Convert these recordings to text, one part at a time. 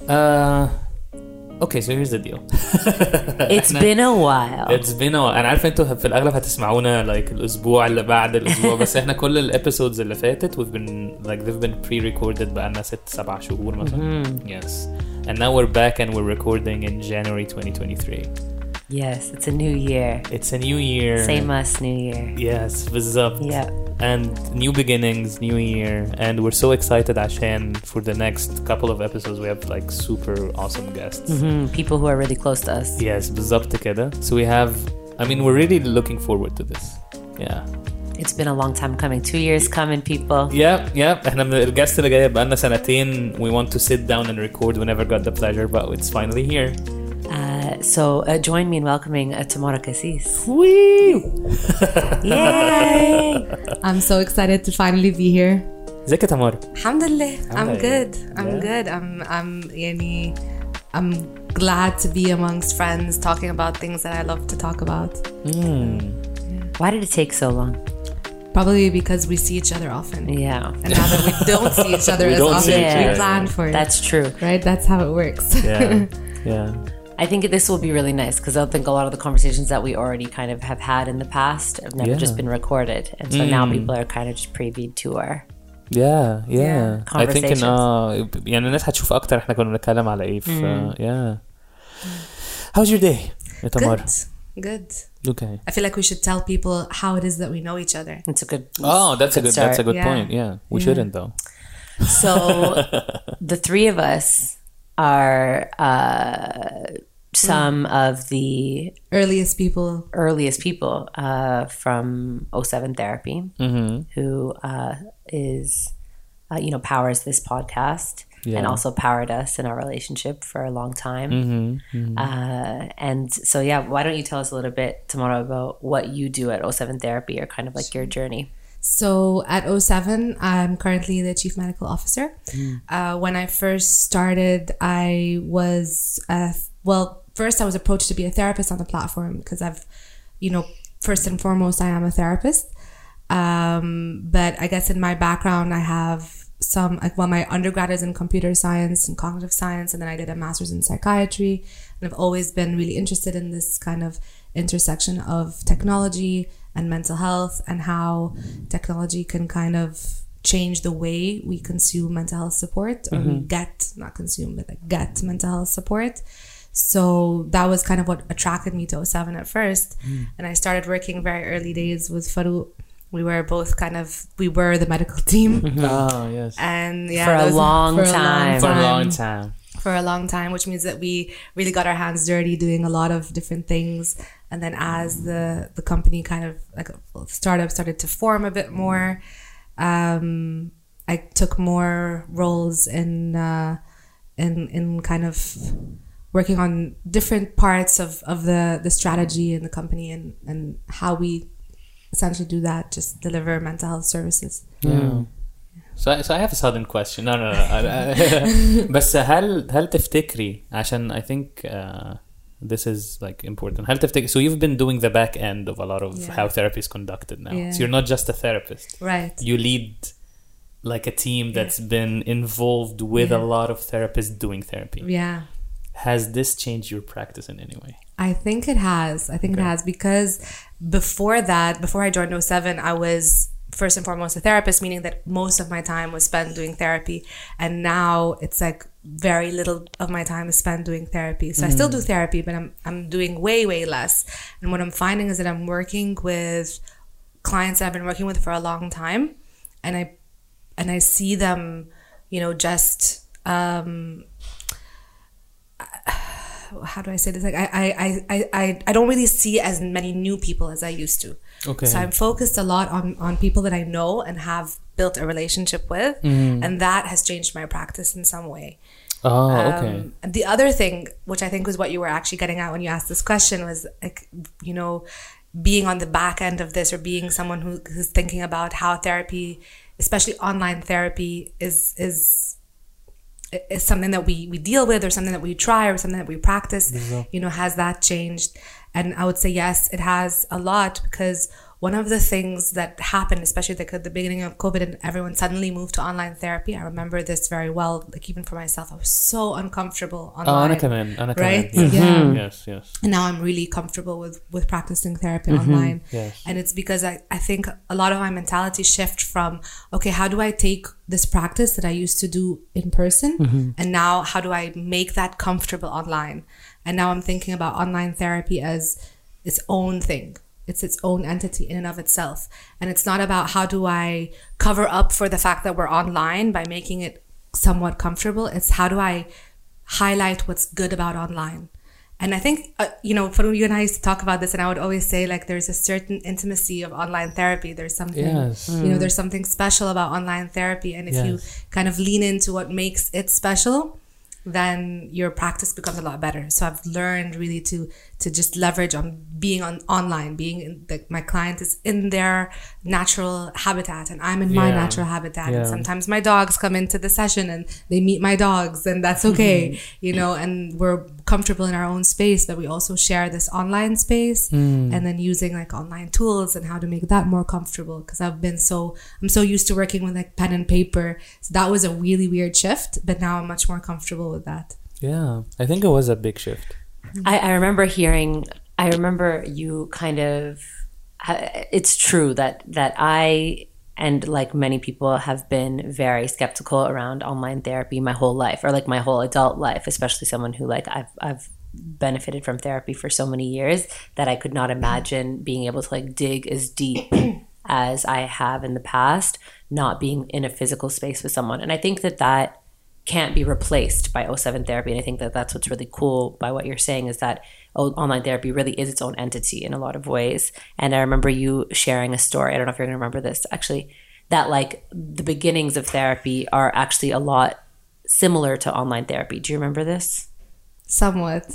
Okay, so here's the deal. It's been a while. It's been a while. أنا عارف أنتوا في الأغلب هتسمعونا like الأسبوع اللي بعد الأسبوع بس إحنا كل الابيسودز اللي فاتت we've been like they've been pre-recorded بقالنا 6-7 شهور مثلا. Yes. And now we're back and we're recording in January 2023. Yes, it's a new year. It's a new year. Same us, new year. Yes, بالظبط. Yeah. And new beginnings, new year, and we're so excited عشان for the next couple of episodes we have like super awesome guests. People who are really close to us. Yes, بالظبط كده. So we have, I mean, we're really looking forward to this. Yeah. It's been a long time coming. 2 years coming, people. Yeah. احنا من الجاست اللي جايه بقالنا سنتين. We want to sit down and record. We never got the pleasure, but it's finally here. So join me in welcoming Tamara Cassis. Woo! Yay! I'm so excited to finally be here. ازيك يا تمارا؟ Alhamdulillah, I'm good. I'm good. I'm glad to be amongst friends talking about things that I love to talk about. Why did it take so long? Probably because we see each other often. Yeah. And now that we don't see each other as don't see often, each we other. plan for it. That's true. Right? That's how it works. Yeah. I think this will be really nice because I think a lot of the conversations that we already kind of have had in the past have never just been recorded. And so now people are kind of just privy to our Yeah. I think يعني الناس هتشوف أكتر إحنا كنا بنتكلم على إيه. Yeah. How's your day يا تمارا؟ Good. Okay. I feel like we should tell people how it is that we know each other. It's a good That's a good Yeah. point. Yeah. We shouldn't though. So the three of us are some of the Earliest people from O7 Therapy, who is powers this podcast and also powered us in our relationship for a long time. And so why don't you tell us a little bit, Tamara, about what you do at O7 Therapy or kind of like your journey? So at O7, I'm currently the Chief Medical Officer. When I first started, I was, first I was approached to be a therapist on the platform because first and foremost, I am a therapist. But I guess in my background, I have my undergrad is in computer science and cognitive science, and then I did a master's in psychiatry. And I've always been really interested in this kind of intersection of technology and mental health and how technology can kind of change the way we consume mental health support or we get mental health support. So that was kind of what attracted me to O7 at first. And I started working very early days with Farouk. We were both we were the medical team. Oh, yes. And for a long time, which means that we really got our hands dirty doing a lot of different things. And then as the company kind of like startup started to form a bit more, I took more roles in kind of working on different parts of the strategy in the company and how we essentially do that, just deliver mental health services. So I have a sudden question. No. بس هل تفتكري عشان I think this is like important. هل تفتكري so you've been doing the back end of a lot of how therapy is conducted now. So you're not just a therapist. Right. You lead like a team that's been involved with a lot of therapists doing therapy. Yeah. Has this changed your practice in any way? I think it has. It has because before I joined O7, I was first and foremost a therapist, meaning that most of my time was spent doing therapy. And now it's like very little of my time is spent doing therapy. So I still do therapy, but I'm doing way, way less. And what I'm finding is that I'm working with clients I've been working with for a long time. And I see them, just how do I say this? Like I don't really see as many new people as I used to. Okay. So I'm focused a lot on people that I know and have built a relationship with, and that has changed my practice in some way. Oh, okay. The other thing, which I think was what you were actually getting at when you asked this question, was like, being on the back end of this or being someone who's thinking about how therapy, especially online therapy, is something that we deal with or something that we try or something that we practice. Has that changed? And I would say yes, it has a lot, because one of the things that happened, especially like at the beginning of COVID and everyone suddenly moved to online therapy, I remember this very well, like even for myself, I was so uncomfortable online. Right? Yeah. Yes. And now I'm really comfortable with practicing therapy online. Yes. And it's because I think a lot of my mentality shift from, okay, how do I take this practice that I used to do in person? And now how do I make that comfortable online? And now I'm thinking about online therapy as its own thing. It's its own entity in and of itself. And it's not about how do I cover up for the fact that we're online by making it somewhat comfortable. It's how do I highlight what's good about online. And I think, for you and I used to talk about this, and I would always say, like, there's a certain intimacy of online therapy. There's something, there's something special about online therapy. And if you kind of lean into what makes it special, then your practice becomes a lot better. So I've learned really to just leverage on being online, my client is in their natural habitat and I'm in my natural habitat. And sometimes my dogs come into the session and they meet my dogs, and that's okay, and we're comfortable in our own space, but we also share this online space, and then using like online tools and how to make that more comfortable. Because I'm so used to working with like pen and paper. So that was a really weird shift, but now I'm much more comfortable with that. Yeah, I think it was a big shift. I remember you kind of, it's true that I, and like many people, have been very skeptical around online therapy my whole life, or like my whole adult life, especially someone who like I've benefited from therapy for so many years that I could not imagine being able to like dig as deep as I have in the past, not being in a physical space with someone. And I think that can't be replaced by O7 therapy. And I think that that's what's really cool by what you're saying, is that online therapy really is its own entity in a lot of ways. And I remember you sharing a story, I don't know if you're going to remember this actually, that like the beginnings of therapy are actually a lot similar to online therapy. Do you remember this? Somewhat.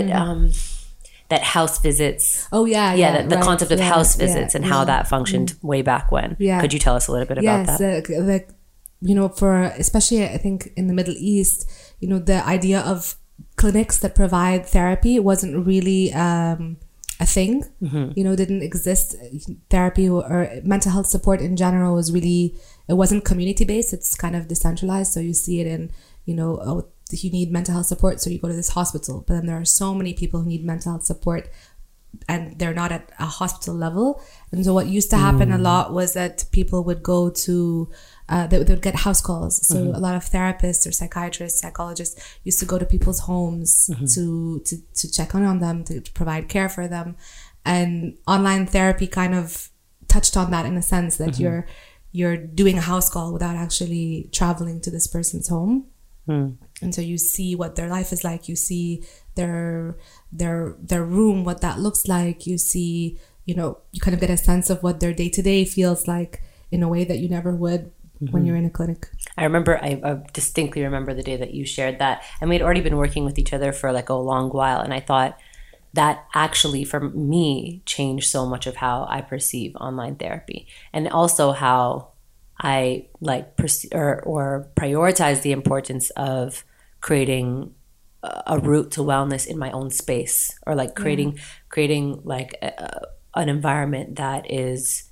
That house visits. Oh yeah. The concept of house visits and how that functioned way back when. Yeah. Could you tell us a little bit about that? For especially I think in the Middle East, the idea of clinics that provide therapy wasn't really a thing. Didn't exist. Therapy or mental health support in general it wasn't community based. It's kind of decentralized. So you see it in, you need mental health support, so you go to this hospital. But then there are so many people who need mental health support and they're not at a hospital level. And so what used to happen a lot was that people would go to they would get house calls. So a lot of therapists or psychiatrists, psychologists used to go to people's homes to check on them, to provide care for them. And online therapy kind of touched on that in a sense that you're doing a house call without actually traveling to this person's home. And so you see what their life is like. You see their room, what that looks like. You see, you kind of get a sense of what their day-to-day feels like in a way that you never would when you're in a clinic. I distinctly remember the day that you shared that. And we had already been working with each other for like a long while. And I thought that actually for me changed so much of how I perceive online therapy, and also how I like or prioritize the importance of creating a route to wellness in my own space, or like creating like an environment that is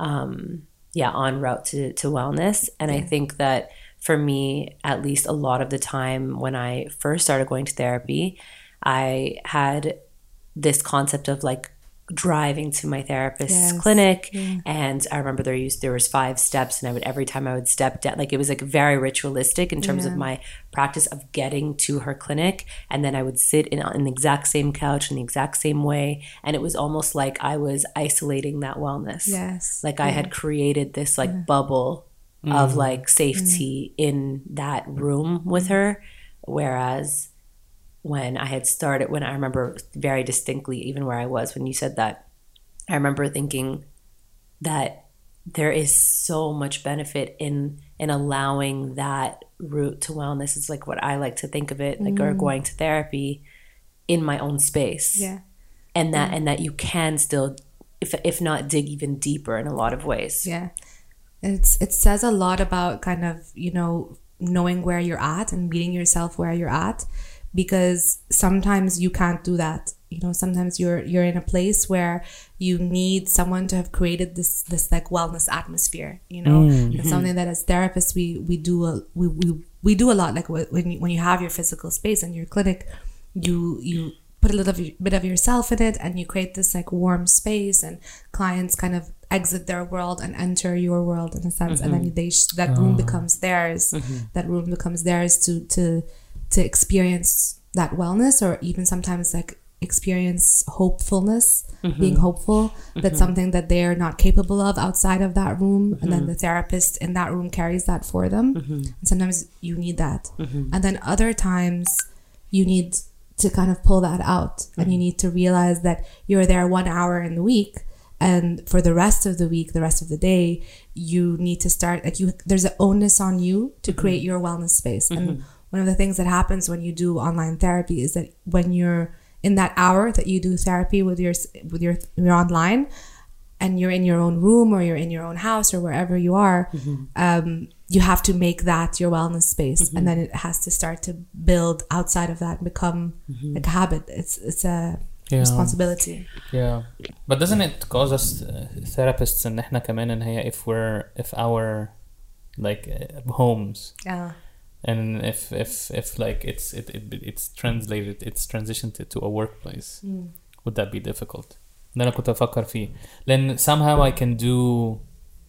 en route to wellness. And I think that for me, at least a lot of the time when I first started going to therapy, I had this concept of like driving to my therapist's clinic. And I remember there was 5 steps, and every time I would step down, like it was like very ritualistic in terms of my practice of getting to her clinic. And then I would sit in the exact same couch in the exact same way, and it was almost like I was isolating that wellness. Like I had created this like bubble of like safety in that room with her, whereas when I remember very distinctly, even where I was when you said that, I remember thinking that there is so much benefit in allowing that route to wellness. It's like what I like to think of it, like, or going to therapy in my own space. And that you can still, if not dig even deeper in a lot of ways. It says a lot about kind of, knowing where you're at and meeting yourself where you're at. Because sometimes you can't do that you know, sometimes you're in a place where you need someone to have created this like wellness atmosphere, you know. It's something that as therapists we do a lot. Like when you have your physical space in your clinic, you put a little bit of yourself in it, and you create this like warm space, and clients kind of exit their world and enter your world in a sense, and then that room becomes theirs. That room becomes theirs to experience that wellness, or even sometimes like experience hopefulness, being hopeful. That's something that they're not capable of outside of that room, and then the therapist in that room carries that for them. And sometimes you need that, and then other times you need to kind of pull that out, and you need to realize that you're there 1 hour in the week, and for the rest of the week, the rest of the day, you need to start like there's an onus on you to create your wellness space. And one of the things that happens when you do online therapy is that when you're in that hour that you do therapy with your online, and you're in your own room, or you're in your own house, or wherever you are, you have to make that your wellness space, and then it has to start to build outside of that and become like a habit. It's a responsibility. Yeah, but doesn't it cause us therapists and إحنا كمان إن هي if our like homes, and if like it's transitioned to a workplace, would that be difficult? ده أنا كنت أفكر فيه. Then somehow I can do,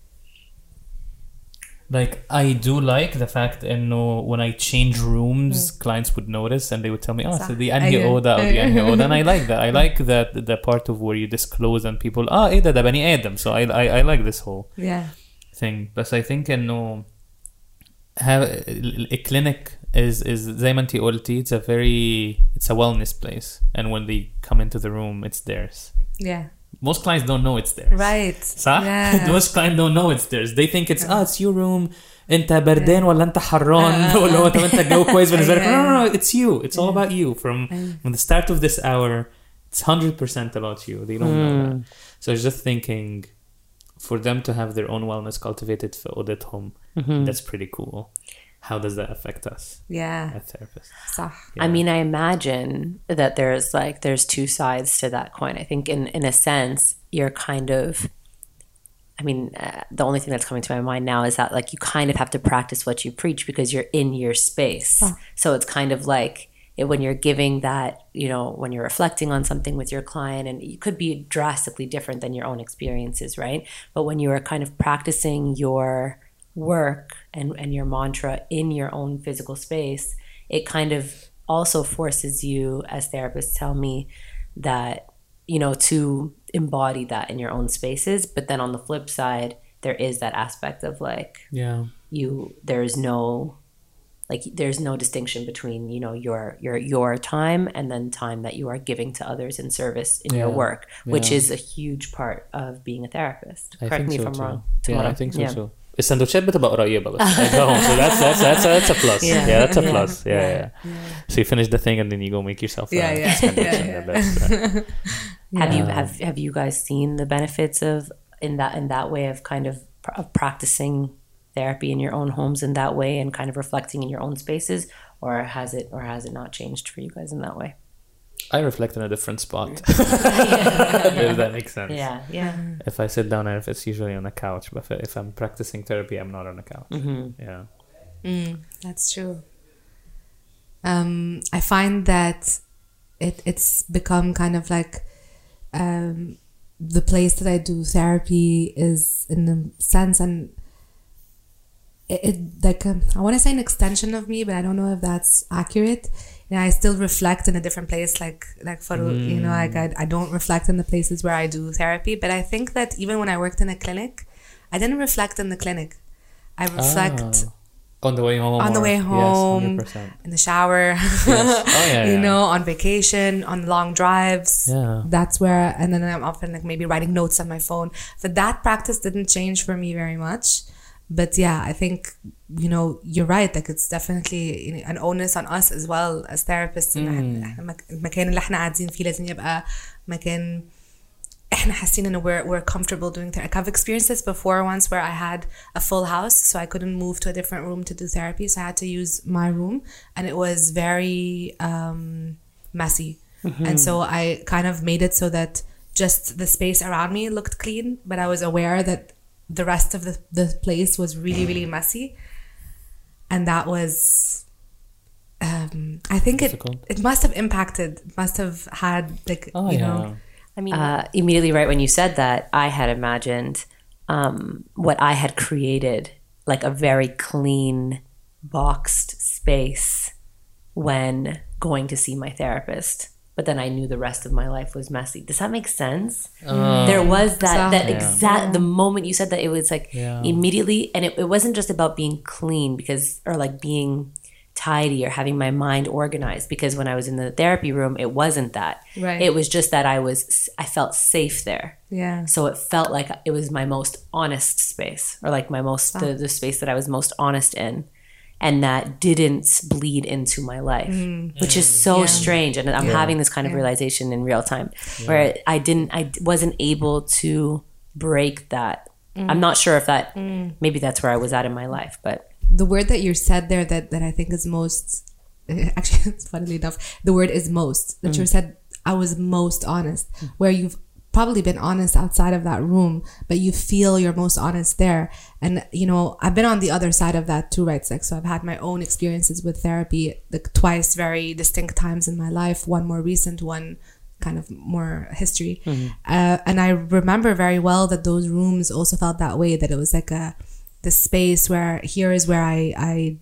like I do like the fact إنه when I change rooms, clients would notice and they would tell me, so the أنهي أوضة أو the أنهي أوضة, and I like that. I like that the part of where you disclose and people إيه ده بني آدم. So I like this whole thing. But I think إنه a clinic is زي ما انتي قلتي, it's a wellness place, and when they come into the room, it's theirs. Most clients don't know it's theirs. Right. صح؟ Most clients don't know it's theirs. They think it's your room. انت بردان ولا انت حران ولا هو انت الجو كويس بالنسبة لك. No, it's you. It's all about you. From the start of this hour, it's 100% about you. They don't know that. So I was just thinking, for them to have their own wellness cultivated في أوضتهم, that's pretty cool. How does that affect us? As therapists. صح. I mean, I imagine that there's two sides to that coin. I think in a sense, you're kind of, I mean, the only thing that's coming to my mind now is that like you kind of have to practice what you preach because you're in your space. So it's kind of like when you're giving that, you know, when you're reflecting on something with your client, and it could be drastically different than your own experiences, right? But when you are kind of practicing your work and your mantra in your own physical space, it kind of also forces you, as therapists tell me, that, you know, to embody that in your own spaces. But then on the flip side, there is that aspect of like, there's no distinction between, you know, your time and then time that you are giving to others in service in your work, which is a huge part of being a therapist. Correct me if I'm wrong. I think so too. السندوتشات بتبقى قريبة بس. So that's a plus. That's a plus. So you finish the thing and then you go make yourself a sandwich. Have you guys seen the benefits of in that way of kind of practicing therapy in your own homes in that way and kind of reflecting in your own spaces, or has it not changed for you guys in that way? I reflect in a different spot. If that makes sense. If I sit down, it's usually on a couch, but if I'm practicing therapy, I'm not on a couch. That's true. I find that it's become kind of like the place that I do therapy is, in a sense, and it like I want to say an extension of me, but I don't know if that's accurate. You know, I still reflect in a different place, like for you know, like I don't reflect in the places where I do therapy. But I think that even when I worked in a clinic, I didn't reflect in the clinic. I reflect on the way home. On the way home, yes, in the shower. Yes. You know, on vacation, on long drives. That's where, and then I'm often like maybe writing notes on my phone. But that practice didn't change for me very much. But I think, you know, you're right. Like it's definitely an onus on us as well as therapists. المكان اللي احنا قاعدين فيه لازم يبقى مكان احنا حاسين انه we're comfortable doing therapy. I've experienced this before once where I had a full house, so I couldn't move to a different room to do therapy, so I had to use my room, and it was very messy. And so I kind of made it so that just the space around me looked clean, but I was aware that the rest of the place was really, really messy. And that was, I think it must have impacted, must have had like, you know. I mean, immediately right when you said that, I had imagined what I had created, like a very clean, boxed space when going to see my therapist. But then I knew the rest of my life was messy. Does that make sense? There was the moment you said that, it was like immediately, and it wasn't just about being clean or like being tidy or having my mind organized, because when I was in the therapy room, it wasn't that. Right. It was just that I felt safe there. Yeah. So it felt like it was my most honest space, or like my most the space that I was most honest in. And that didn't bleed into my life, which is so strange. And I'm having this kind of realization in real time, where I wasn't able to break that. I'm not sure if that, maybe that's where I was at in my life, but. The word that you said there that I think is most, actually, it's funnily enough, the word is most, that you said, I was most honest, where you've probably been honest outside of that room, but you feel you're most honest there. And you know, I've been on the other side of that too, right? Like, so I've had my own experiences with therapy, like twice, very distinct times in my life, one more recent, one kind of more history. And I remember very well that those rooms also felt that way, that it was like the space where here is where I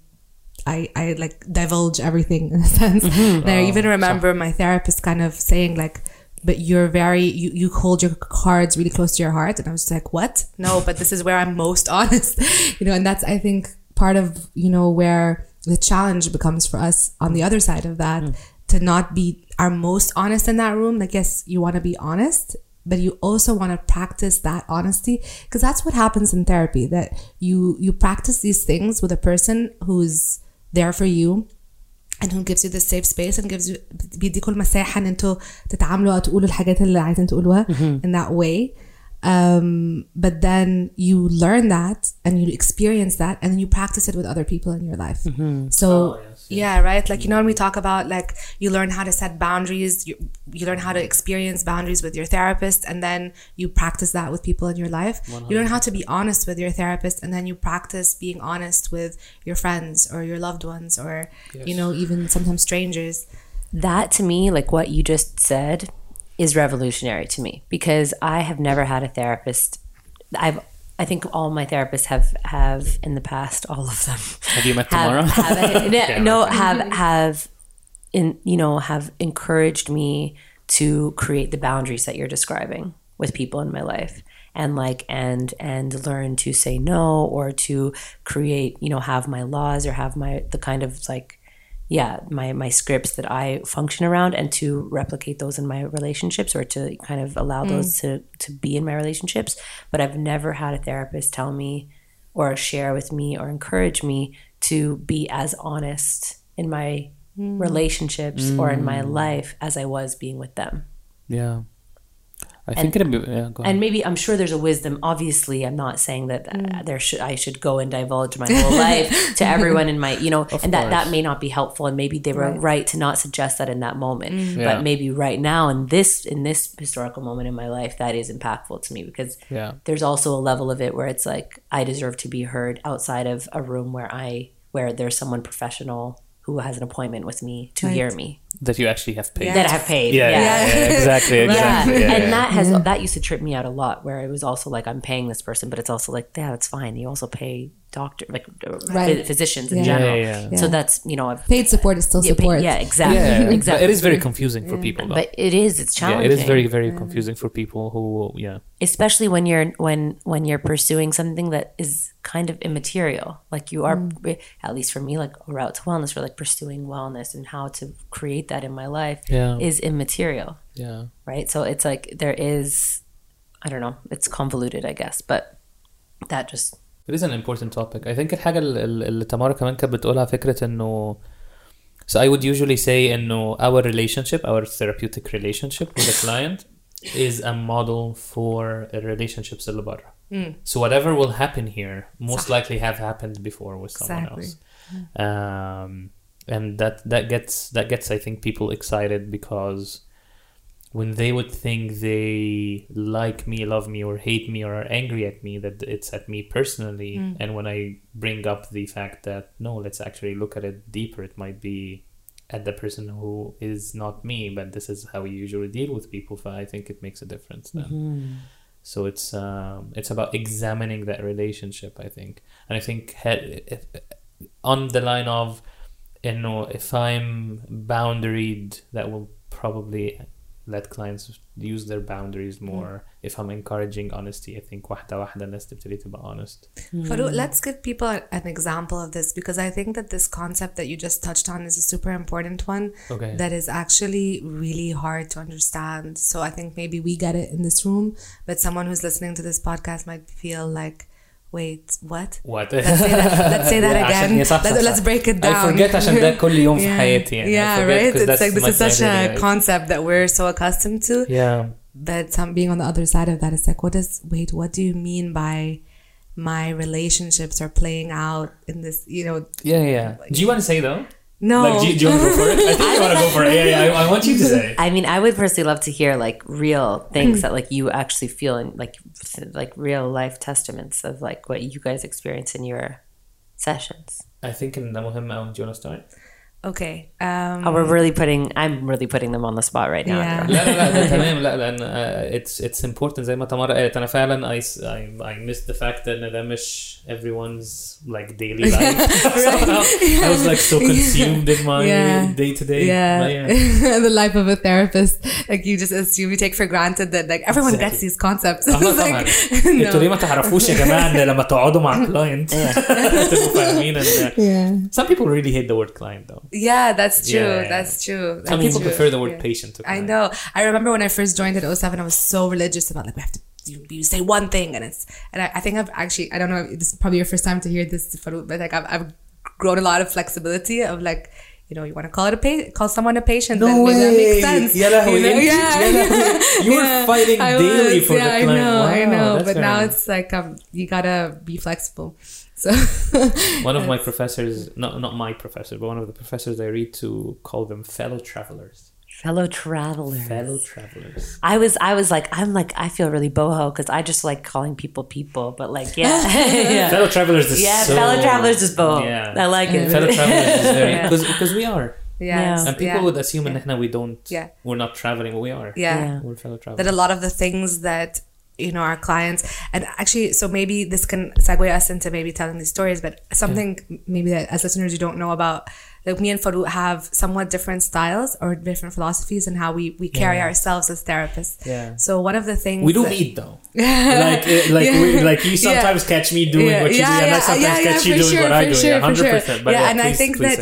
like divulge everything in a sense. And I even remember my therapist kind of saying like, but you're very, you hold your cards really close to your heart. And I was just like, what? No, but this is where I'm most honest, you know, and that's, I think, part of, you know, where the challenge becomes for us on the other side of that, to not be our most honest in that room. Like, yes, you want to be honest, but you also want to practice that honesty, because that's what happens in therapy, that you practice these things with a person who's there for you, and who gives you the safe space and gives you, بيديكوا المساحة ان انتوا تتعاملوا او تقولوا الحاجات اللي عايزين تقولوها in that way. But then you learn that and you experience that, and then you practice it with other people in your life. So yeah, right, like, you know, when we talk about like you learn how to set boundaries, you learn how to experience boundaries with your therapist, and then you practice that with people in your life. 100. You learn how to be honest with your therapist, and then you practice being honest with your friends or your loved ones, or you know, even sometimes strangers. That, to me, like what you just said, is revolutionary to me, because I have never had a therapist. I think all my therapists have in the past, all of them. Have you met tomorrow? Have encouraged me to create the boundaries that you're describing with people in my life, and learn to say no, or to create, you know, have my laws, or have the kind of like, my scripts that I function around, and to replicate those in my relationships, or to kind of allow those to be in my relationships. But I've never had a therapist tell me or share with me or encourage me to be as honest in my relationships or in my life as I was being with them. Yeah. I think it'd be, go ahead. And maybe, I'm sure there's a wisdom. Obviously, I'm not saying that I should go and divulge my whole life to everyone in my, you know, and that may not be helpful. And maybe they were right to not suggest that in that moment. But maybe right now, in this historical moment in my life, that is impactful to me, because there's also a level of it where it's like, I deserve to be heard outside of a room where there's someone professional who has an appointment with me to hear me. That you actually have paid. That I have paid. Exactly. And that used to trip me out a lot, where it was also like, I'm paying this person, but it's also like, that's fine. You also pay physicians in general. So that's, you know, paid support is still support. Exactly. But it is very confusing for people, though. But it's challenging. It is very, very confusing for people who, especially when you're pursuing something that is kind of immaterial. Like you are, at least for me, like a route to wellness, or like pursuing wellness and how to create that in my life is immaterial. Right. So it's like, there is, I don't know, it's convoluted, I guess, but that just. It is an important topic. I think الحاجة اللي تمارا كمان كانت بتقولها فكرة إنه, so I would usually say إنه our therapeutic relationship with a client is a model for relationships اللي برا. So whatever will happen here most likely have happened before with someone else. And that gets I think people excited, because when they would think they like me, love me, or hate me, or are angry at me, that it's at me personally. And when I bring up the fact that, no, let's actually look at it deeper, it might be at the person who is not me, but this is how we usually deal with people. So I think it makes a difference then. So it's about examining that relationship, I think. And I think on the line of, if I'm boundaried, that will probably let clients use their boundaries more. If I'm encouraging honesty, I think واحدة الناس تبتدي تبقى honest. Farouk, let's give people an example of this, because I think that this concept that you just touched on is a super important one that is actually really hard to understand. So I think maybe we get it in this room, but someone who's listening to this podcast might feel like, wait, what? Let's say that again. Let's break it down. I forget عشان ده كل يوم في حياتي يعني. Yeah, right? It's like this is such a concept that we're so accustomed to. Yeah. But being on the other side of that, it's like, what do you mean by my relationships are playing out in this, Yeah. Do you want to say though? No. Like, do you want to go for it? I think you want to go for it. Yeah, I want you to say. I mean, I would personally love to hear like real things that like you actually feel, and like real life testaments of like what you guys experience in your sessions. I think in the مهم أوي. Do you want to start? Okay. I'm really putting them on the spot right now. Yeah. لا تمام. لا لأن it's important زي ما تمارا قالت. أنا فعلا I missed the fact that ده مش everyone's like daily life. I was like so consumed in my day to day. The life of a therapist, like you just assume, you take for granted that like everyone gets these concepts. انتوا ليه ما تعرفوش يا جماعة ان لما تقعدوا مع client تبقوا فاهمين. Some people really hate the word client though. Yeah, that's true. That's true. Some people prefer the word patient to client. I know. I remember when I first joined at 07, I was so religious about like, we have to you say one thing, and I think I've actually, I don't know, this is probably your first time to hear this, but like I've grown a lot of flexibility of like, you want to call someone a patient. No way. That makes sense. You were fighting daily for the client. I know. But now nice. it's like you gotta be flexible. So one of my professors, not my professor, but one of the professors I read to, call them fellow travelers. Fellow travelers. I was like, I feel really boho because I just like calling people, but like, yeah. Fellow travelers is fellow travelers is boho. Yeah. I like it. Fellow travelers is very, because we are. Yes. And people would assume that we don't, we're not traveling, but we are. Yeah. We're fellow travelers. That a lot of the things that, our clients, and actually, so maybe this can segue us into maybe telling these stories, but something maybe that as listeners you don't know about, like me and Farouk have somewhat different styles or different philosophies in how we carry ourselves as therapists. Yeah. So one of the things we do meet though, like you sometimes catch me doing what you do, and I sometimes catch you doing what I do. 100%. But and I think that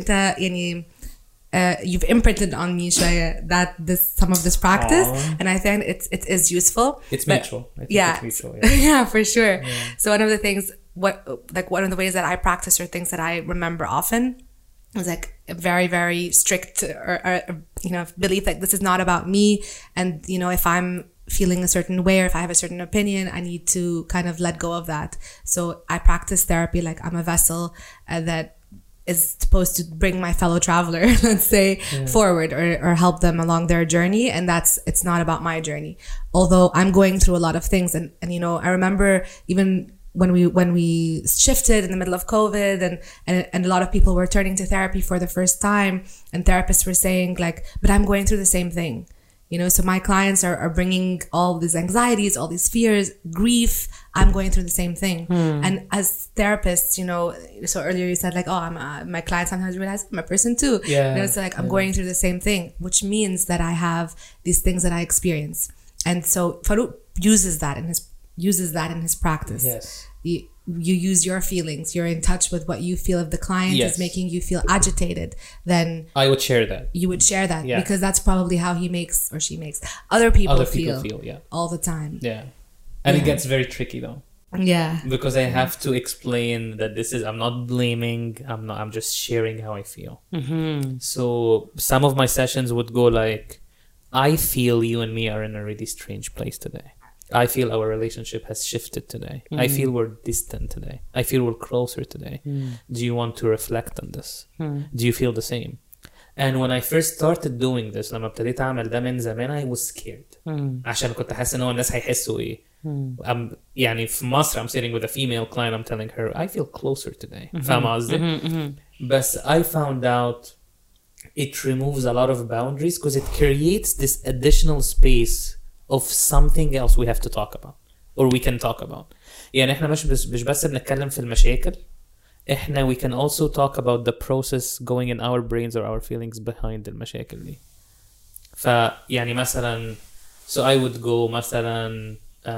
you've imprinted on me that some of this practice. Aww. And I think it is useful. It's mutual. I think it's mutual. Yeah, for sure. Yeah. So one of the things, one of the ways that I practice or things that I remember often is like a very, very strict or belief that this is not about me. And, if I'm feeling a certain way or if I have a certain opinion, I need to kind of let go of that. So I practice therapy like I'm a vessel that is supposed to bring my fellow traveler, let's say, forward or help them along their journey. And it's not about my journey. Although I'm going through a lot of things. And I remember even when we shifted in the middle of COVID and a lot of people were turning to therapy for the first time, and therapists were saying like, but I'm going through the same thing. So my clients are bringing all these anxieties, all these fears, grief. I'm going through the same thing. And as therapists, so earlier you said like, oh, my clients sometimes realize I'm a person too. Yeah. It's like I'm going through the same thing, which means that I have these things that I experience. And so Farouk uses that in his practice. Yes. You use your feelings. You're in touch with what you feel. If the client is making you feel agitated, then I would share that. You would share that because that's probably how he makes or she makes other people feel all the time. Yeah. And it gets very tricky though. Yeah. Because I have to explain that I'm not blaming. I'm just sharing how I feel. Mm-hmm. So some of my sessions would go like, I feel you and me are in a really strange place today. I feel our relationship has shifted today. I feel we're distant today. I feel we're closer today. Do you want to reflect on this? Do you feel the same? And when I first started doing this, لما ابتديت أعمل ده من زمان, I was scared. عشان كنت حاسس إن هو الناس هيحسوا إيه. يعني في مصر I'm sitting with a female client, I'm telling her I feel closer today. فاهمة قصدي؟ بس I found out it removes a lot of boundaries because it creates this additional space of something else we have to talk about or we can talk about. يعني احنا مش بس بنتكلم في المشاكل, احنا we can also talk about the process going in our brains or our feelings behind المشاكل دي. فيعني مثلا so I would go مثلا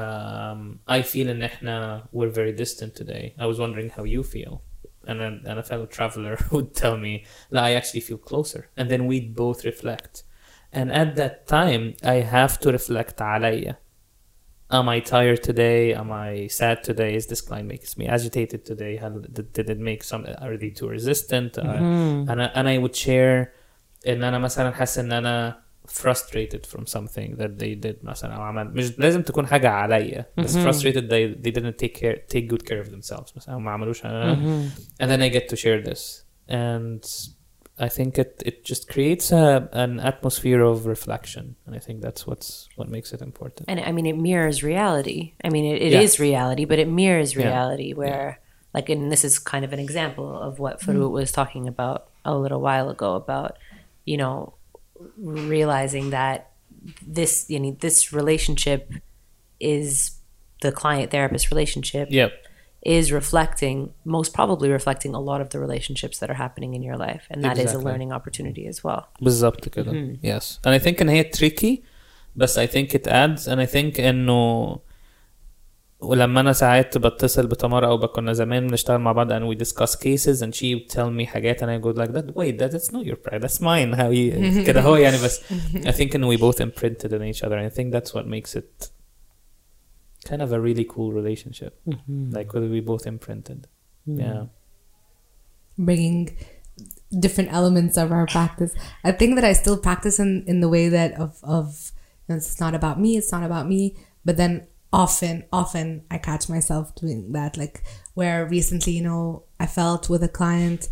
I feel ان احنا we're very distant today. I was wondering how you feel. And a fellow traveler would tell me, I actually feel closer. And then we'd both reflect. And at that time, I have to reflect عليا. Am I tired today? Am I sad today? Is this client makes me agitated today? Did it make some, are they too resistant? And I would share ان انا مثلا حاسس ان انا frustrated from something that they did مثلا او عمل, مش لازم تكون حاجة عليا, بس frustrated they didn't take good care of themselves مثلا, ما عملوش and then I get to share this, and I think it just creates an atmosphere of reflection, and I think that's what makes it important. And I mean, it mirrors reality. I mean, it is reality, but it mirrors reality where like, and this is kind of an example of what Farouk was talking about a little while ago about, you know, realizing that this relationship is the client therapist relationship is most probably reflecting a lot of the relationships that are happening in your life, and that is a learning opportunity as well. بالضبط كده. Yes, and I think إن هي tricky, but I think it adds, and I think إنه ولما أنا ساعات بتصل بتمارا أو كنا زمان بنشتغل مع بعض and we discuss cases and she would tell me حاجات and I go like that, wait, that's not your pride, that's mine. How you كده هو يعني, بس I think and we both imprinted on each other, and I think that's what makes it kind of a really cool relationship. Like whether we both imprinted. Yeah, bringing different elements of our practice. I think that I still practice in the way that of you know, it's not about me, but then often I catch myself doing that, like where recently, you know, I felt with a client,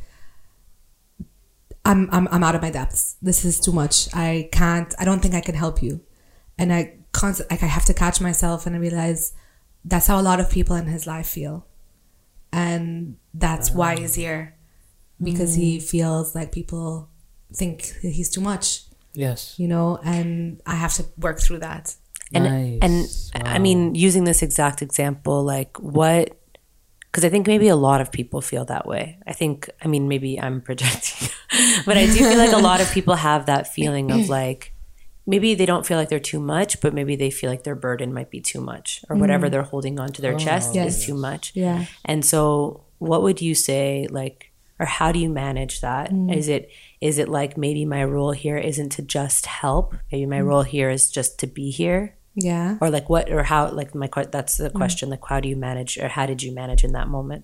I'm out of my depths. This is too much. I don't think I can help you. And I have to catch myself and I realize that's how a lot of people in his life feel. And that's why he's here. Because he feels like people think he's too much. Yes. You know, and I have to work through that. And wow. I mean, using this exact example, like because I think maybe a lot of people feel that way. I mean, maybe I'm projecting, but I do feel like a lot of people have that feeling of like, maybe they don't feel like they're too much, but maybe they feel like their burden might be too much, or whatever they're holding onto their chest is too much. Yeah. And so what would you say, like, or how do you manage that? Is it like, maybe my role here isn't to just help. Maybe my role here is just to be here. Yeah. Or like what, or how, like that's the question, like how do you manage, or how did you manage in that moment?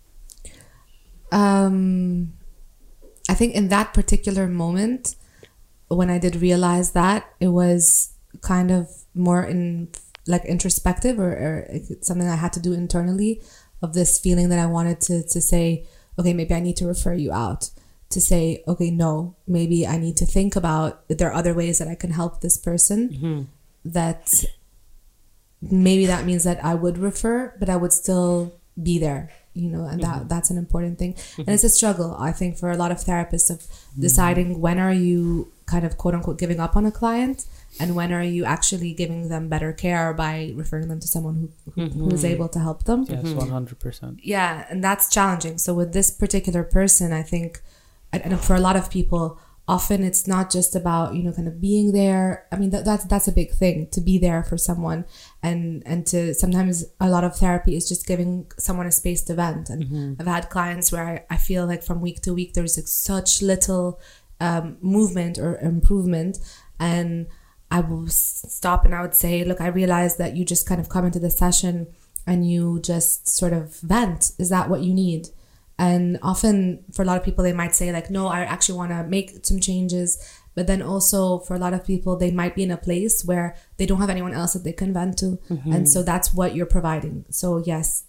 I think in that particular moment, when I did realize that, it was kind of more introspective or something I had to do internally, of this feeling that I wanted to say, okay, maybe I need to refer you out, to say, okay, no, maybe I need to think about if there are other ways that I can help this person. That maybe that means that I would refer, but I would still be there, you know, and that's an important thing. And it's a struggle, I think, for a lot of therapists of deciding when are you kind of quote unquote giving up on a client, and when are you actually giving them better care by referring them to someone who is able to help them. Yes, 100%. Yeah, and that's challenging. So with this particular person, I think, and for a lot of people, often it's not just about, you know, kind of being there. I mean, that's a big thing, to be there for someone, and to sometimes a lot of therapy is just giving someone a space to vent. And I've had clients where I feel like from week to week there's like such little movement or improvement, and I will stop and I would say, look, I realize that you just kind of come into the session and you just sort of vent. Is that what you need? And often for a lot of people, they might say like, no, I actually want to make some changes. But then also for a lot of people, they might be in a place where they don't have anyone else that they can vent to. And so that's what you're providing. So yes,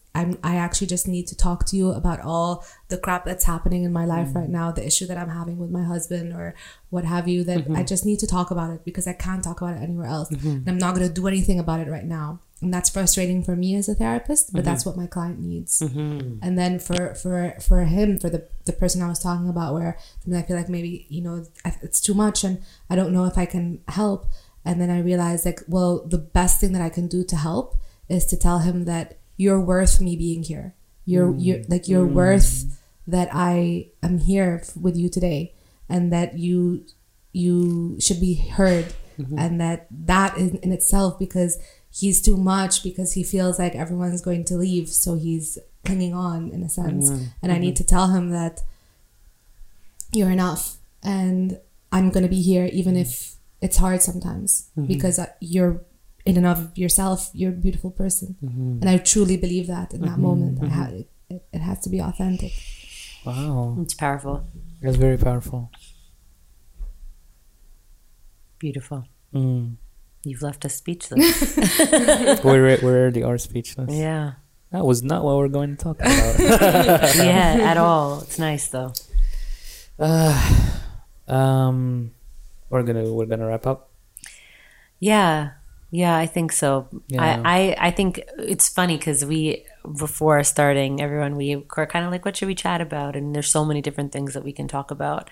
I actually just need to talk to you about all the crap that's happening in my life right now, the issue that I'm having with my husband or what have you, that I just need to talk about it because I can't talk about it anywhere else. And I'm not going to do anything about it right now. And that's frustrating for me as a therapist, but that's what my client needs. And then for him, for the person I was talking about, where I feel like maybe, you know, it's too much and I don't know if I can help. And then I realized, like, well, the best thing that I can do to help is to tell him that you're worth me being here. You're worth that I am here with you today, and that you should be heard. And that is in itself, because he's too much, because he feels like everyone's going to leave, so he's clinging on in a sense. And I need to tell him that you're enough, and I'm going to be here even if it's hard sometimes, because you're in and of yourself, you're a beautiful person. And I truly believe that in that moment. It has to be authentic. Wow. It's powerful. That's very powerful. Beautiful. You've left us speechless. We already are speechless. Yeah. That was not what we're going to talk about. Yeah, at all. It's nice though. We're gonna wrap up. Yeah, I think so. Yeah. I think it's funny because before starting, everyone, we were kind of like, what should we chat about? And there's so many different things that we can talk about.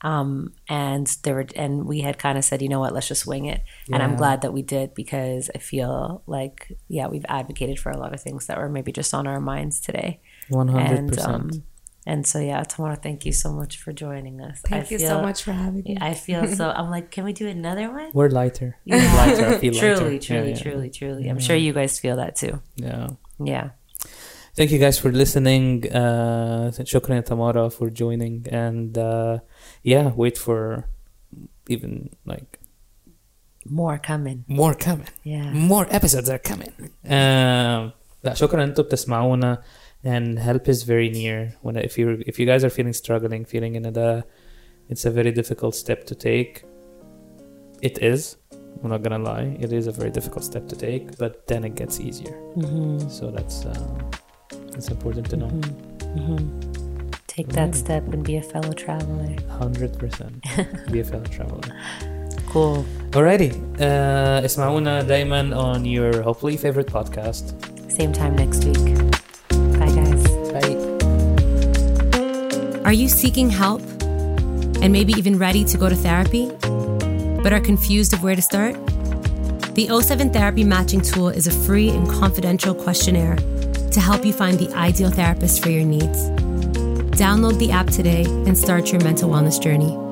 And we had kind of said, you know what, let's just wing it. Yeah. And I'm glad that we did, because I feel like, we've advocated for a lot of things that were maybe just on our minds today. 100%. And so, Tamara, thank you so much for joining us. Thank you so much for having me. I feel so, I'm like, can we do another one? We're lighter. Yeah. Lighter. I feel lighter. Truly. I'm sure you guys feel that too. Yeah. Thank you guys for listening. Shukran ya Tamara for joining. And wait for even like more coming. Yeah. More episodes are coming. شكرا انتم بتسمعونا. And help is very near. If you guys are feeling in it's a very difficult step to take. It is. I'm not gonna lie. It is a very difficult step to take, but then it gets easier. So that's important to know. Take that step and be a fellow traveler. 100%. Be a fellow traveler. Cool. Alrighty. اسمعونا دايما on your hopefully favorite podcast. Same time next week. Bye, guys. Bye. Are you seeking help and maybe even ready to go to therapy, but are confused of where to start? The O7 Therapy Matching Tool is a free and confidential questionnaire to help you find the ideal therapist for your needs. Download the app today and start your mental wellness journey.